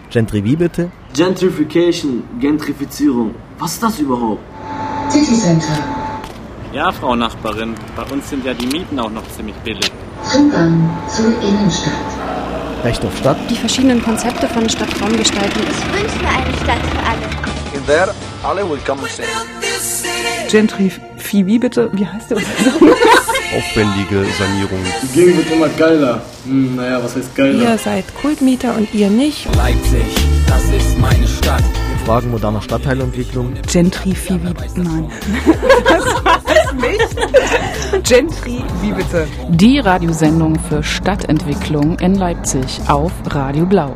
Gentry wie bitte? Gentrification, Gentrifizierung. Was ist das überhaupt? City Center. Ja, Frau Nachbarin, bei uns sind ja die Mieten auch noch ziemlich billig. Zugang zur Innenstadt. Recht auf Stadt? Die verschiedenen Konzepte von Stadtraumgestaltung. Ich wünsche mir eine Stadt für alle. In der alle willkommen sind. Gentry wie bitte? Wie heißt der? Aufwendige Sanierung. Die Gegend wird immer geiler. Naja, was heißt geiler? Ihr seid Kultmieter und ihr nicht. Leipzig, das ist meine Stadt. Fragen moderner Stadtteilentwicklung. Gentry nein. Das war's nicht. Gentry wie bitte? Die Radiosendung für Stadtentwicklung in Leipzig auf Radio Blau.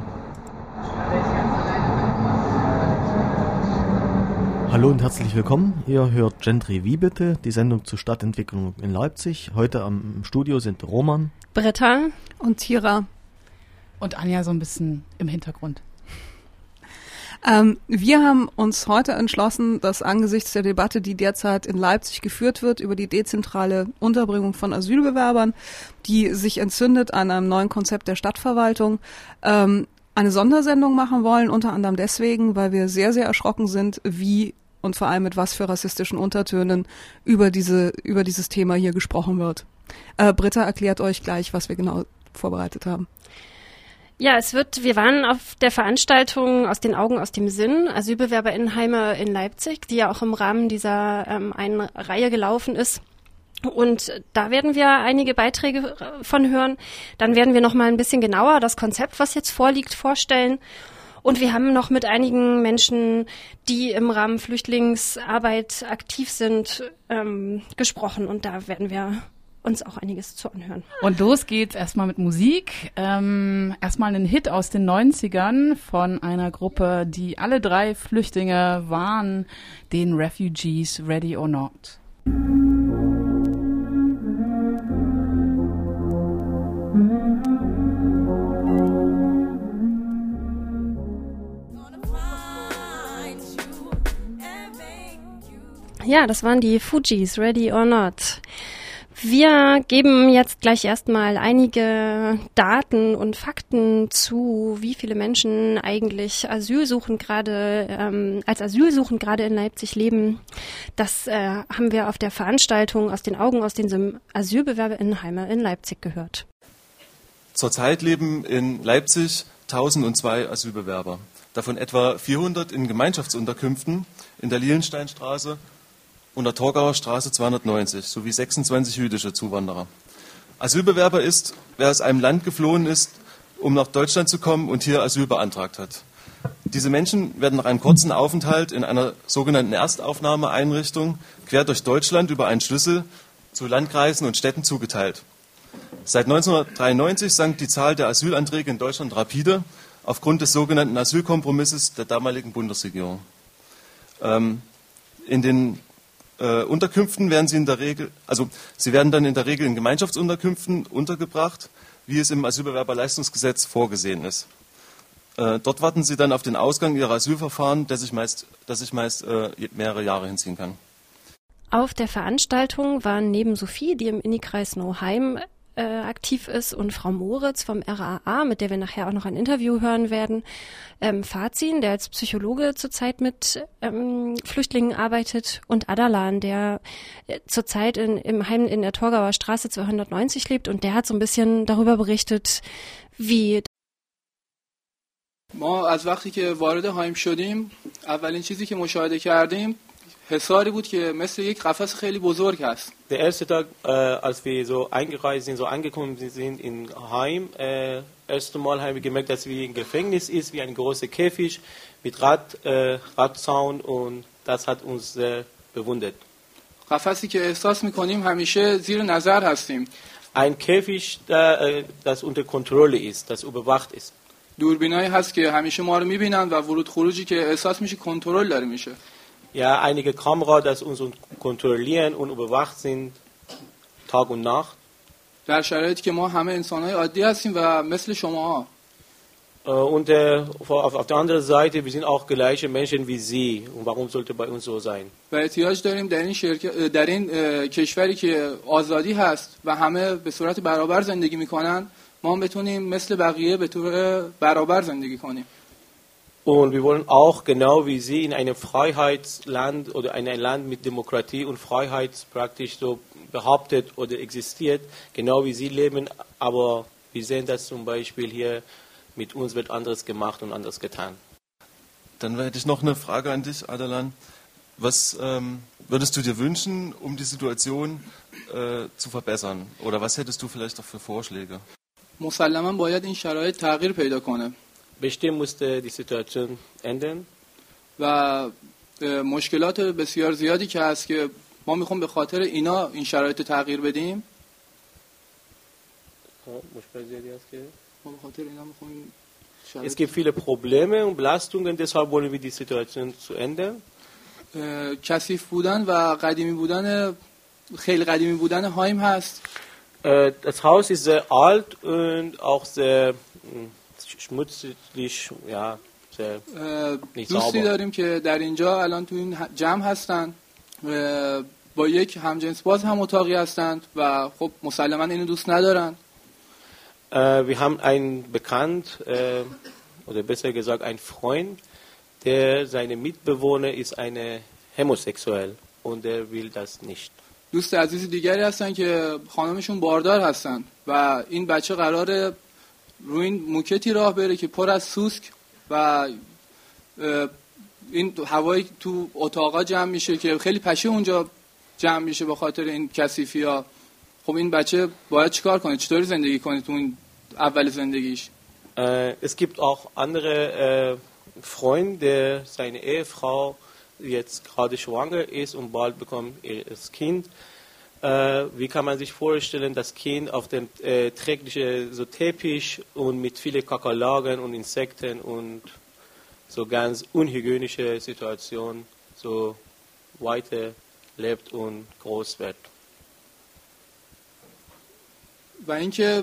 Hallo und herzlich willkommen. Ihr hört Gentry wie bitte, die Sendung zur Stadtentwicklung in Leipzig. Heute im Studio sind Roman, Britta und Tira. Und Anja so ein bisschen im Hintergrund. Wir haben uns heute entschlossen, dass angesichts der Debatte, die derzeit in Leipzig geführt wird, über die dezentrale Unterbringung von Asylbewerbern, die sich entzündet an einem neuen Konzept der Stadtverwaltung, eine Sondersendung machen wollen, unter anderem deswegen, weil wir sehr, sehr erschrocken sind, wie und vor allem mit was für rassistischen Untertönen über dieses Thema hier gesprochen wird. Britta erklärt euch gleich, was wir genau vorbereitet haben. Ja, wir waren auf der Veranstaltung Aus den Augen, aus dem Sinn, AsylbewerberInnenheime in Leipzig, die ja auch im Rahmen dieser einen Reihe gelaufen ist. Und da werden wir einige Beiträge von hören. Dann werden wir noch mal ein bisschen genauer das Konzept, was jetzt vorliegt, vorstellen. Und wir haben noch mit einigen Menschen, die im Rahmen Flüchtlingsarbeit aktiv sind, gesprochen. Und da werden wir uns auch einiges zu anhören. Und los geht's erstmal mit Musik. Erstmal ein Hit aus den 90ern von einer Gruppe, die alle 3 Flüchtlinge waren, den Refugees, Ready or Not. Ja, das waren die Fugees, Ready or Not. Wir geben jetzt gleich erstmal einige Daten und Fakten zu, wie viele Menschen eigentlich als asylsuchend gerade in Leipzig leben. Das haben wir auf der Veranstaltung Aus den Augen, aus den AsylbewerberInnenheime in Leipzig gehört. Zurzeit leben in Leipzig 1002 Asylbewerber. Davon etwa 400 in Gemeinschaftsunterkünften in der Liliensteinstraße und der Torgauer Straße 290 sowie 26 jüdische Zuwanderer. Asylbewerber ist, wer aus einem Land geflohen ist, um nach Deutschland zu kommen und hier Asyl beantragt hat. Diese Menschen werden nach einem kurzen Aufenthalt in einer sogenannten Erstaufnahmeeinrichtung quer durch Deutschland über einen Schlüssel zu Landkreisen und Städten zugeteilt. Seit 1993 sank die Zahl der Asylanträge in Deutschland rapide aufgrund des sogenannten Asylkompromisses der damaligen Bundesregierung. In den Unterkünften werden sie werden dann in der Regel in Gemeinschaftsunterkünften untergebracht, wie es im Asylbewerberleistungsgesetz vorgesehen ist. Dort warten sie dann auf den Ausgang ihrer Asylverfahren, das sich meist mehrere Jahre hinziehen kann. Auf der Veranstaltung waren neben Sophie, die im Inni-Kreis Nauheim aktiv ist, und Frau Moritz vom RAA, mit der wir nachher auch noch ein Interview hören werden, Fazin, der als Psychologe zurzeit mit Flüchtlingen arbeitet, und Adalan, der zurzeit im Heim in der Torgauer Straße 290 lebt, und der hat so ein bisschen darüber berichtet, wie ما از وقتی که وارد هایم شدیم اولین چیزی که مشاهده کردیم حصاری بود که مثل یک قفس خیلی بزرگ است. Der erste Tag, als wir so eingereist sind, so angekommen sind in Heim, erste Mal haben wir gemerkt, dass wir ein Gefängnis ist, wie ein großer Käfig mit Radzaun, und das hat uns sehr bewundert. قفسی که احساس می‌کنیم همیشه زیر نظر هستیم. Ein Käfig, das unter Kontrolle ist, das überwacht ist. دوربینایی هست که همیشه ما رو می‌بینن و ورود خروجی که احساس میشه کنترل داره میشه. Ja, einige Kameras, die uns kontrollieren und überwacht sind, Tag und Nacht. در شرایطی که ما همه انسان‌های عادی هستیم و مثل شماها. Und auf der anderen Seite, wir sind auch gleiche Menschen wie Sie. Und warum sollte bei uns so sein? و احتیاج داریم در این کشوری که آزادی هست و همه به صورت برابر زندگی میکنن، ما هم بتونیم مثل بقیه به طور برابر زندگی کنیم. Und wir wollen auch, genau wie Sie, in einem Freiheitsland oder in einem Land mit Demokratie und Freiheit praktisch so behauptet oder existiert, genau wie Sie leben, aber wir sehen das zum Beispiel hier, mit uns wird anderes gemacht und anderes getan. Dann hätte ich noch eine Frage an dich, Adelan. Was würdest du dir wünschen, um die Situation zu verbessern? Oder was hättest du vielleicht auch für Vorschläge? مسلماً باید این شرایط تغییر پیدا کنه. Bestimmt musste die Situation ändern. و مشکلات بسیار زیادی که هست که ما میخوام به خاطر اینا این شرایط تغییر بدیم. ما به خاطر اینا میخوایم Es gibt viele Probleme und Belastungen, deshalb wollen wir die Situation zu ändern. کثیف بودن و قدیمی بودن خیلی قدیمی بودن هایم هست. Das Haus ist sehr alt und auch sehr schmutzig, ja, sehr nicht sauber. دوستی داریم که در اینجا الان تو این جمع هستن با یک همجنس باز هم اتاقی هستند و خب مسلماً اینو دوست ندارن. Wir haben einen Bekannt, oder besser gesagt einen Freund, der seine Mitbewohner ist eine homosexuell und der will das nicht. دوست عزیز دیگری هستن که خانمشون باردار هستن و این بچه قراره روی این موکتی راه بره که پر از سوسک و این هوایی تو اتاقا جمع میشه که خیلی پشه اونجا جمع میشه به خاطر این کثیفی‌ها. خب این بچه باید چیکار کنه؟ چطوری زندگی کنه تو این اول زندگیش؟ Es gibt auch andere Freunde, der seine Ehefrau jetzt gerade schwanger ist und bald bekommt ihr das Kind. Wie kann man sich vorstellen, das Kind auf dem träglichen so Teppich und mit vielen Kakerlaken und Insekten und so ganz unhygienische Situation so weiter lebt und groß wird. و اینکه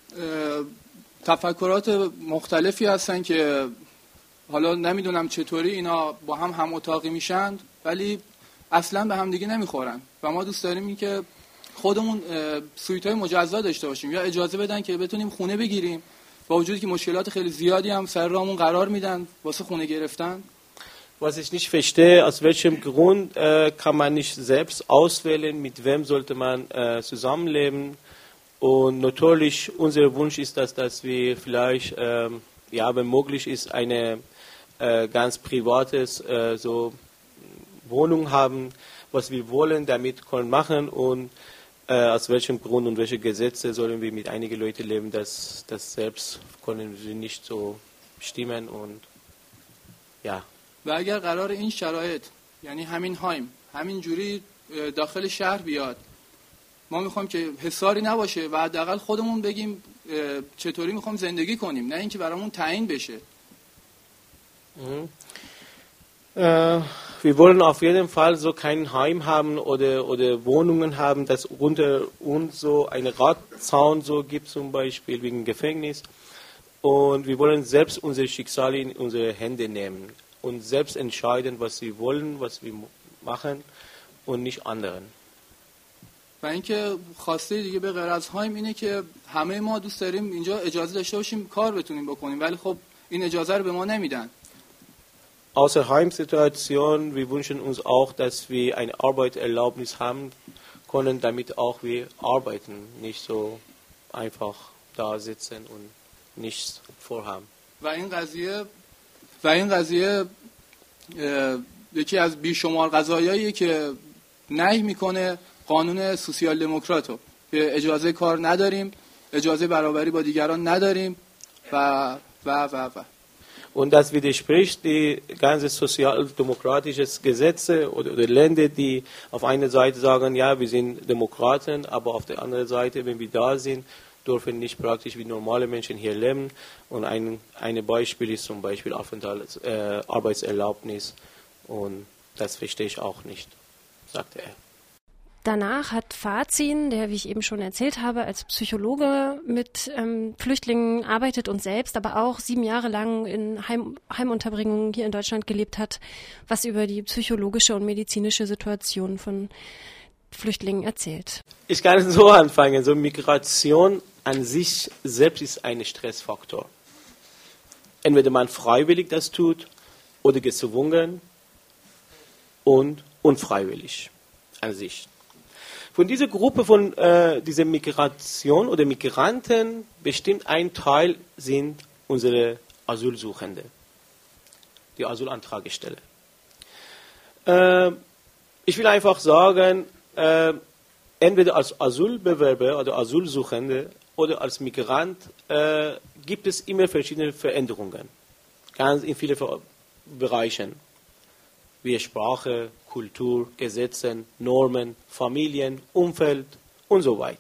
تفکرات مختلفی هستن که حالا نمیدونم چطوری اینا با هم اتاقی میشن ولی اصلا به هم دیگه نمیخورن و ما دوست داریم این که خودمون سویت‌های مجزا داشته باشیم یا اجازه بدن که بتونیم خونه بگیریم با وجودی که مشکلات خیلی زیادی هم سر راهمون قرار میدن واسه خونه گرفتن. Was ich nicht verstehe, aus welchem Grund kann man nicht selbst auswählen, mit wem sollte man zusammenleben. Und natürlich, unser Wunsch ist, dass wir vielleicht, ja, wenn möglich ist, eine ganz privates so Wohnung haben, was wir wollen, damit können machen und aus welchem Grund und welche Gesetze sollen wir mit einigen Leuten leben, das selbst können wir nicht so bestimmen und ja. و اگر قرار این شرایط یعنی همین هایم همین جوری داخل شهر بیاد ما میخوایم که حصاری نباشه و حداقل خودمون بگیم چطوری میخوایم زندگی کنیم نه اینکه برامون تعیین بشه. Wir wollen auf jeden Fall so kein Heim haben oder Wohnungen haben, dass unter uns so eine Radzaun so gibt zum Beispiel wegen Gefängnis. Und wir wollen selbst unser Schicksal in unsere Hände nehmen und selbst entscheiden, was wir wollen, was wir machen und nicht anderen. و اینکه خواسته دیگه به غیر از هایم اینه که همه ما دوست داریم اینجا اجازه داشته باشیم کار بتونیم بکنیم ولی خب این اجازه رو به ما نمیدن. Außer Heimsituation, wir wünschen uns auch, dass wir eine Arbeitserlaubnis haben können, damit auch wir arbeiten, nicht so einfach da sitzen und nichts vorhaben. و این قضیه یکی از بیشمار قضایاییه که نهی میکنه قانون سوسیال دموکراتو که اجازه کار نداریم، اجازه برابری با دیگران نداریم و. Und das widerspricht die ganze sozialdemokratische Gesetze oder Länder, die auf einer Seite sagen, ja, wir sind Demokraten, aber auf der anderen Seite, wenn wir da sind, dürfen nicht praktisch wie normale Menschen hier leben. Und ein Beispiel ist zum Beispiel Arbeitserlaubnis. Und das verstehe ich auch nicht, sagte er. Danach hat Fazin, der, wie ich eben schon erzählt habe, als Psychologe mit Flüchtlingen arbeitet und selbst aber auch 7 Jahre lang in Heimunterbringungen hier in Deutschland gelebt hat, was über die psychologische und medizinische Situation von Flüchtlingen erzählt. Ich kann so anfangen. So Migration an sich selbst ist ein Stressfaktor. Entweder man freiwillig das tut oder gezwungen und unfreiwillig an sich. Von dieser Gruppe von dieser Migration oder Migranten bestimmt ein Teil sind unsere Asylsuchende, die Asylantragsteller. Ich will einfach sagen, entweder als Asylbewerber oder Asylsuchende oder als Migrant gibt es immer verschiedene Veränderungen, ganz in vielen Bereichen, wie Sprache, Kultur, Gesetze, Normen, Familien, Umfeld und so weiter.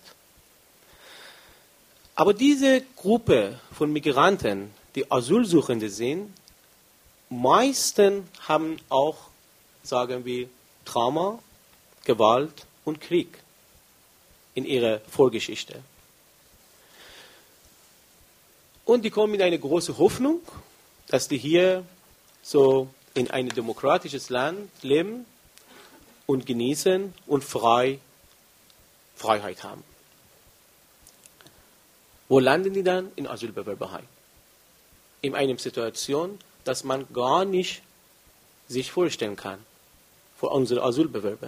Aber diese Gruppe von Migranten, die Asylsuchende sind, meisten haben auch, sagen wir, Trauma, Gewalt und Krieg in ihrer Vorgeschichte. Und die kommen mit einer großen Hoffnung, dass die hier so in ein demokratisches Land leben und genießen und Freiheit haben. Wo landen die dann? In Asylbewerberheim. In einer Situation, dass man gar nicht sich vorstellen kann für unsere Asylbewerber.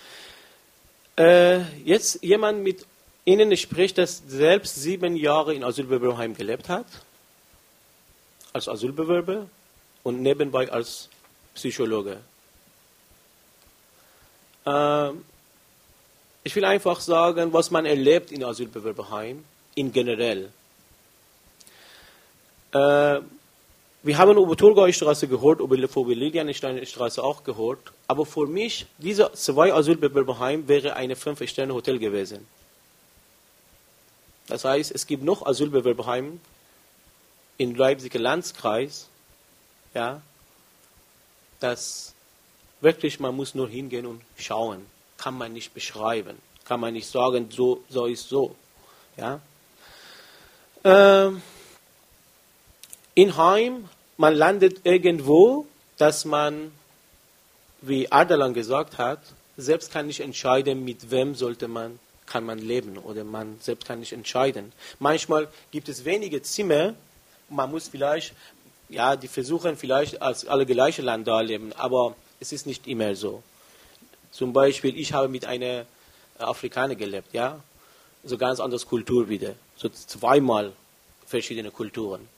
Jetzt jemand mit Ihnen spricht, das selbst 7 Jahre in Asylbewerberheim gelebt hat, als Asylbewerber und nebenbei als Psychologe. Ich will einfach sagen, was man erlebt in Asylbewerberheim, in generell. Wir haben über Thurgaustraße gehört, über Liliensteinstraße auch gehört, aber für mich, diese 2 Asylbewerberheim wäre eine 5-Sterne-Hotel gewesen. Das heißt, es gibt noch Asylbewerberheim im Leipziger Landkreis, ja, das wirklich, man muss nur hingehen und schauen. Kann man nicht beschreiben. Kann man nicht sagen, so ist so. Ja. In Heim, man landet irgendwo, dass man, wie Ardalan gesagt hat, selbst kann nicht entscheiden, mit wem kann man leben oder man selbst kann nicht entscheiden. Manchmal gibt es wenige Zimmer, man muss vielleicht, ja, die versuchen vielleicht als alle gleiche Land da leben, aber es ist nicht immer so. Zum Beispiel, ich habe mit einer Afrikaner gelebt, ja, so ganz anderes Kultur wieder, so 2-mal verschiedene Kulturen.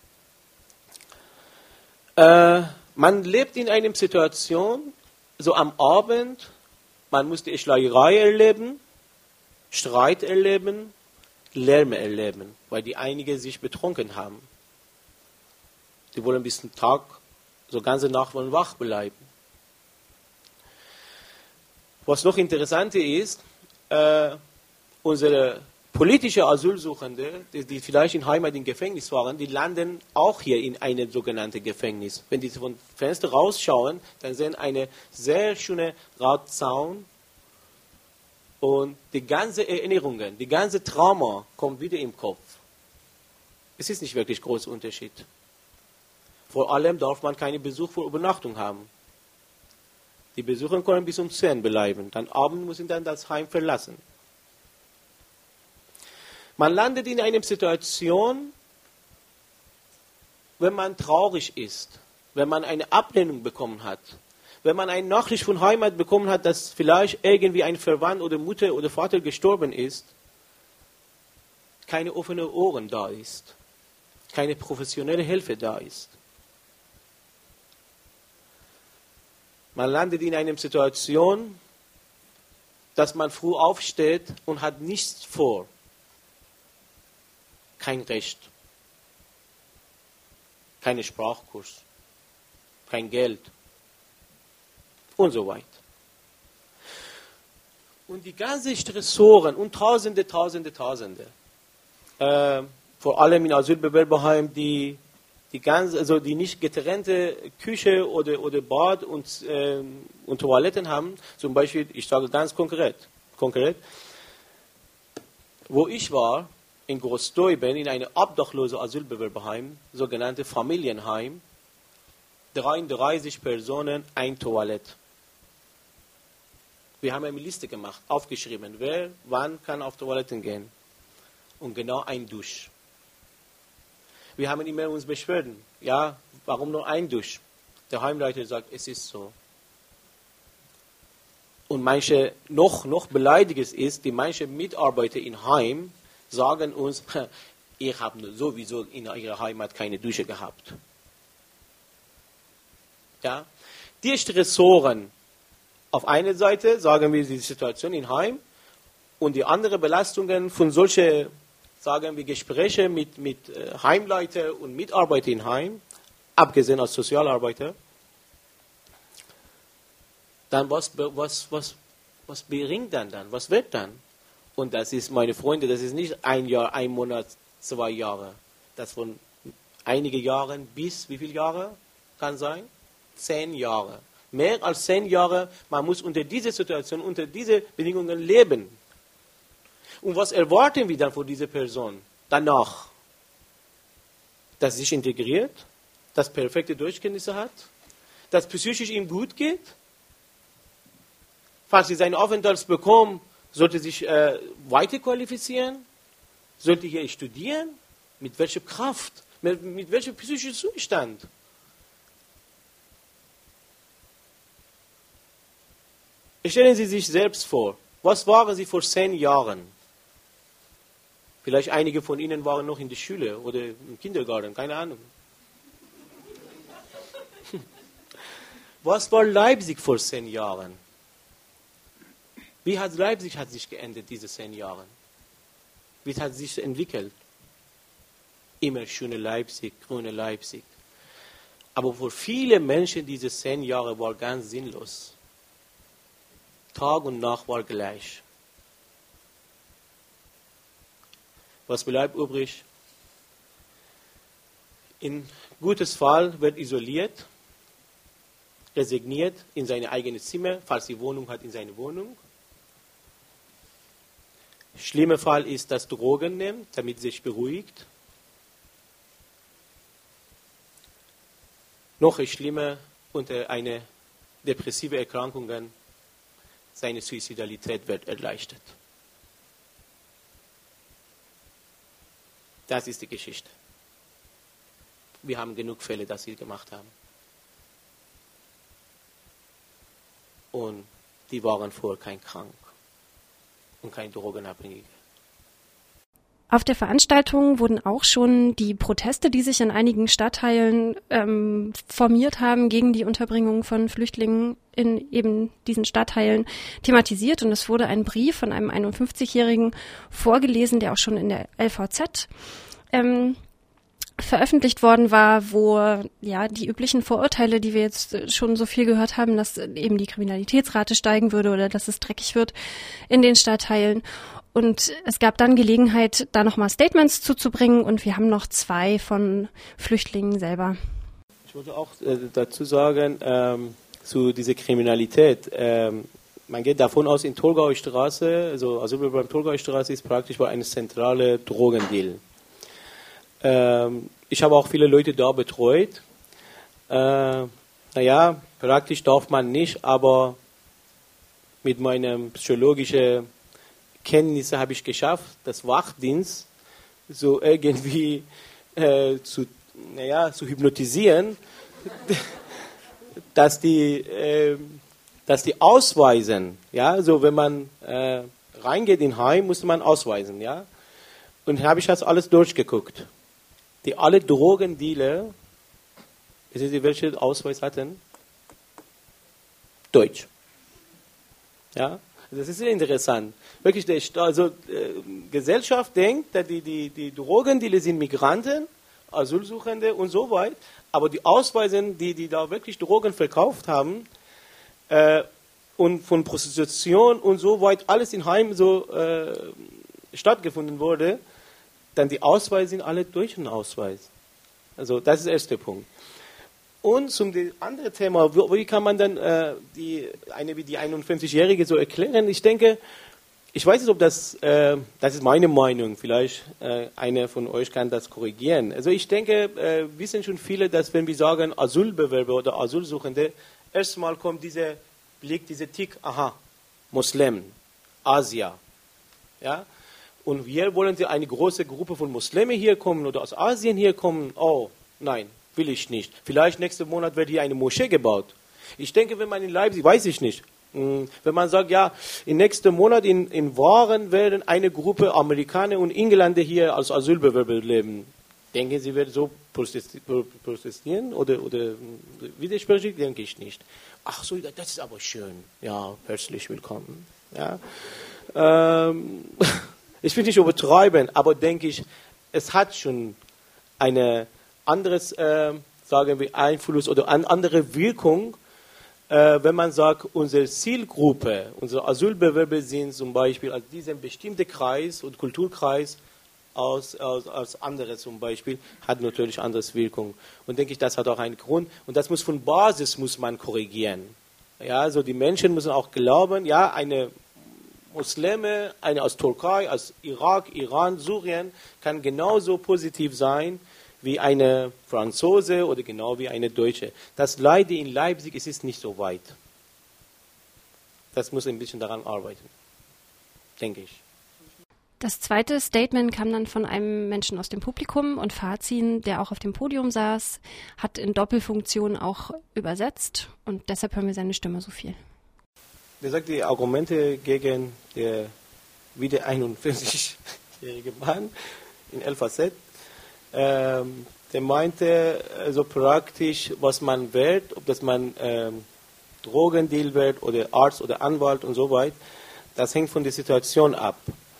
Man lebt in einer Situation, so am Abend, man muss die Schlägerei erleben, Streit erleben, Lärm erleben, weil die einige sich betrunken haben. Die wollen bis zum Tag, so ganze Nacht wollen wach bleiben. Was noch interessanter ist, unsere politische Asylsuchende, die vielleicht in Heimat im Gefängnis waren, die landen auch hier in einem sogenannten Gefängnis. Wenn die vom Fenster rausschauen, dann sehen eine sehr schöne Radzaun und die ganze Erinnerungen, die ganze Trauma kommt wieder im Kopf. Es ist nicht wirklich ein großer Unterschied. Vor allem darf man keinen Besuch für Übernachtung haben. Die Besucher können bis um 10 bleiben. Dann abends müssen dann das Heim verlassen. Man landet in einer Situation, wenn man traurig ist, wenn man eine Ablehnung bekommen hat, wenn man eine Nachricht von Heimat bekommen hat, dass vielleicht irgendwie ein Verwandt oder Mutter oder Vater gestorben ist, keine offenen Ohren da ist, keine professionelle Hilfe da ist. Man landet in einer Situation, dass man früh aufsteht und hat nichts vor. Kein Recht, keine Sprachkurs, kein Geld und so weiter. Und die ganzen Stressoren und Tausende, vor allem in Asylbewerberheim, die nicht getrennte Küche oder Bad und Toiletten haben, zum Beispiel, ich sage ganz konkret, wo ich war, in Großdeuben, in einem obdachlosen Asylbewerberheim, sogenannte Familienheim, 33 Personen, ein Toilette. Wir haben eine Liste gemacht, aufgeschrieben, wer wann kann auf Toiletten gehen. Und genau ein Dusch. Wir haben immer uns Beschwerden. Ja, warum nur ein Dusch? Der Heimleiter sagt, es ist so. Und manche, noch beleidigend ist, die manche Mitarbeiter im Heim sagen uns, ihr habt sowieso in eurer Heimat keine Dusche gehabt. Ja? Die Stressoren, auf einer Seite sagen wir die Situation im Heim und die anderen Belastungen von solchen, sagen wir, Gespräche mit Heimleiter und Mitarbeiter im Heim, abgesehen als Sozialarbeiter, dann was bringt dann? Was wird dann? Und das ist, meine Freunde, das ist nicht ein Jahr, ein Monat, 2 Jahre. Das von einigen Jahren bis wie viele Jahre kann sein? 10 Jahre. Mehr als 10 Jahre, man muss unter dieser Situation, unter diese Bedingungen leben. Und was erwarten wir dann von dieser Person danach? Dass sie sich integriert, dass perfekte Deutschkenntnisse hat, dass psychisch ihm gut geht. Falls sie seinen Aufenthalt bekommen, sollte sich weiter qualifizieren, sollte hier studieren, mit welcher Kraft, mit welchem psychischen Zustand. Stellen Sie sich selbst vor, was waren Sie vor 10 Jahren? Vielleicht einige von Ihnen waren noch in der Schule oder im Kindergarten, keine Ahnung. Was war Leipzig vor 10 Jahren? Wie hat Leipzig sich geändert, diese 10 Jahre? Wie hat sich entwickelt? Immer schöne Leipzig, grüne Leipzig. Aber für viele Menschen diese 10 Jahre war ganz sinnlos. Tag und Nacht war gleich. Was bleibt übrig? In gutes Fall wird isoliert, resigniert in seine eigene Zimmer, falls sie Wohnung hat, in seine Wohnung. Schlimmer Fall ist, dass Drogen nimmt, damit sich beruhigt. Noch schlimmer, unter einer depressiven Erkrankung, seine Suizidalität wird erleichtert. Das ist die Geschichte. Wir haben genug Fälle, dass sie gemacht haben. Und die waren vorher kein krank und kein Drogenabhängiger. Auf der Veranstaltung wurden auch schon die Proteste, die sich in einigen Stadtteilen formiert haben gegen die Unterbringung von Flüchtlingen in eben diesen Stadtteilen, thematisiert. Und es wurde ein Brief von einem 51-Jährigen vorgelesen, der auch schon in der LVZ veröffentlicht worden war, wo ja die üblichen Vorurteile, die wir jetzt schon so viel gehört haben, dass eben die Kriminalitätsrate steigen würde oder dass es dreckig wird in den Stadtteilen. Und es gab dann Gelegenheit, da nochmal Statements zuzubringen und wir haben noch 2 von Flüchtlingen selber. Ich wollte auch dazu sagen, zu dieser Kriminalität. Man geht davon aus, in Thurgauer Straße, also beim Thurgauer Straße ist praktisch eine zentrale Drogendeal. Ich habe auch viele Leute da betreut. Praktisch darf man nicht, aber mit meinem psychologischen Kenntnisse habe ich geschafft, das Wachdienst so irgendwie zu hypnotisieren, dass die ausweisen, ja, so wenn man reingeht in Heim, musste man ausweisen, ja, und habe ich das alles durchgeguckt. Die alle Drogendealer, wissen Sie, welchen Ausweis hatten? Deutsch. Ja, das ist sehr interessant. Wirklich, Gesellschaft denkt, dass die Drogendealer sind Migranten, Asylsuchende und so weiter, aber die Ausweise, die da wirklich Drogen verkauft haben und von Prostitution und so weiter, alles in Heim so stattgefunden wurde, dann die Ausweise sind alle deutschen Ausweis. Also das ist der erste Punkt. Und zum anderen Thema, wie kann man dann die 51-Jährige so erklären? Ich denke, ich weiß nicht, ob das ist meine Meinung, vielleicht einer von euch kann das korrigieren. Also ich denke, wissen schon viele, dass wenn wir sagen Asylbewerber oder Asylsuchende, erstmal kommt dieser Blick, dieser Tick, aha, Muslim, Asia. Ja? Und hier wollen sie eine große Gruppe von Muslimen hier kommen oder aus Asien hier kommen. Oh, nein, will ich nicht. Vielleicht nächsten Monat wird hier eine Moschee gebaut. Ich denke, wenn man in Leipzig, weiß ich nicht, wenn man sagt, ja, im nächsten Monat in Waren werden eine Gruppe Amerikaner und Engländer hier als Asylbewerber leben. Denken Sie, wird so protestieren oder widersprechen? Denke ich nicht. Ach so, das ist aber schön. Ja, herzlich willkommen. Ja. Ich will nicht übertreiben, aber denke ich, es hat schon eine anderes, sagen wir, Einfluss oder eine andere Wirkung, wenn man sagt, unsere Zielgruppe, unsere Asylbewerber sind zum Beispiel aus diesem bestimmten Kreis und Kulturkreis als andere zum Beispiel, hat natürlich anderes Wirkung. Und denke ich, das hat auch einen Grund. Und das muss von Basis muss man korrigieren. Ja, also die Menschen müssen auch glauben, ja, eine Muslime, eine aus Türkei, aus Irak, Iran, Syrien, kann genauso positiv sein wie eine Franzose oder genau wie eine Deutsche. Das Leider in Leipzig ist nicht so weit. Das muss ein bisschen daran arbeiten, denke ich. Das zweite Statement kam dann von einem Menschen aus dem Publikum und Fazin, der auch auf dem Podium saß, hat in Doppelfunktion auch übersetzt und deshalb hören wir seine Stimme so viel. Der sagt die Argumente gegen der wieder 41-jährige Mann in LVZ. Der meinte so praktisch, was man wird, ob das man Drogendeal wird oder Arzt oder Anwalt und so weiter, das hängt von der Situation ab.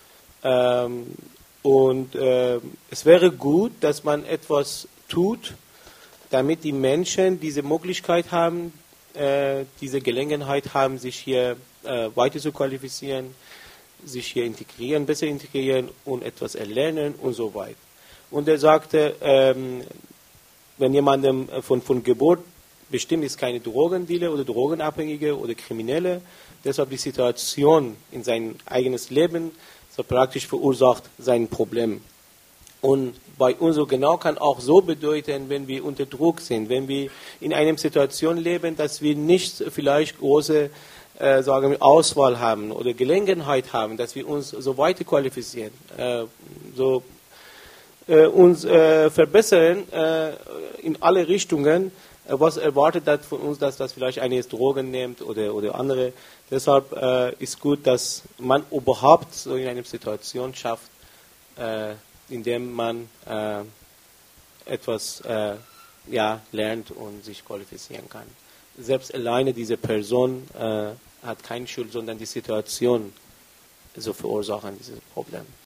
Es wäre gut, dass man etwas tut, damit die Menschen diese Möglichkeit haben, diese Gelegenheit haben, sich hier weiter zu qualifizieren, sich hier integrieren, besser integrieren und etwas erlernen und so weiter. Und er sagte, wenn jemandem von Geburt bestimmt ist, keine Drogendealer oder Drogenabhängige oder Kriminelle, deshalb die Situation in sein eigenes Leben so praktisch verursacht sein Problem. Und bei uns so genau kann auch so bedeuten, wenn wir unter Druck sind, wenn wir in einer Situation leben, dass wir nicht vielleicht große sagen wir, Auswahl haben oder Gelegenheit haben, dass wir uns so weiter qualifizieren, uns verbessern in alle Richtungen. Was erwartet das von uns, dass das vielleicht eine Drogen nimmt oder andere. Deshalb ist gut, dass man überhaupt so in einer Situation schafft, in der man etwas lernt und sich qualifizieren kann. Selbst alleine diese Person hat keine Schuld, sondern die Situation so verursachen dieses Problem.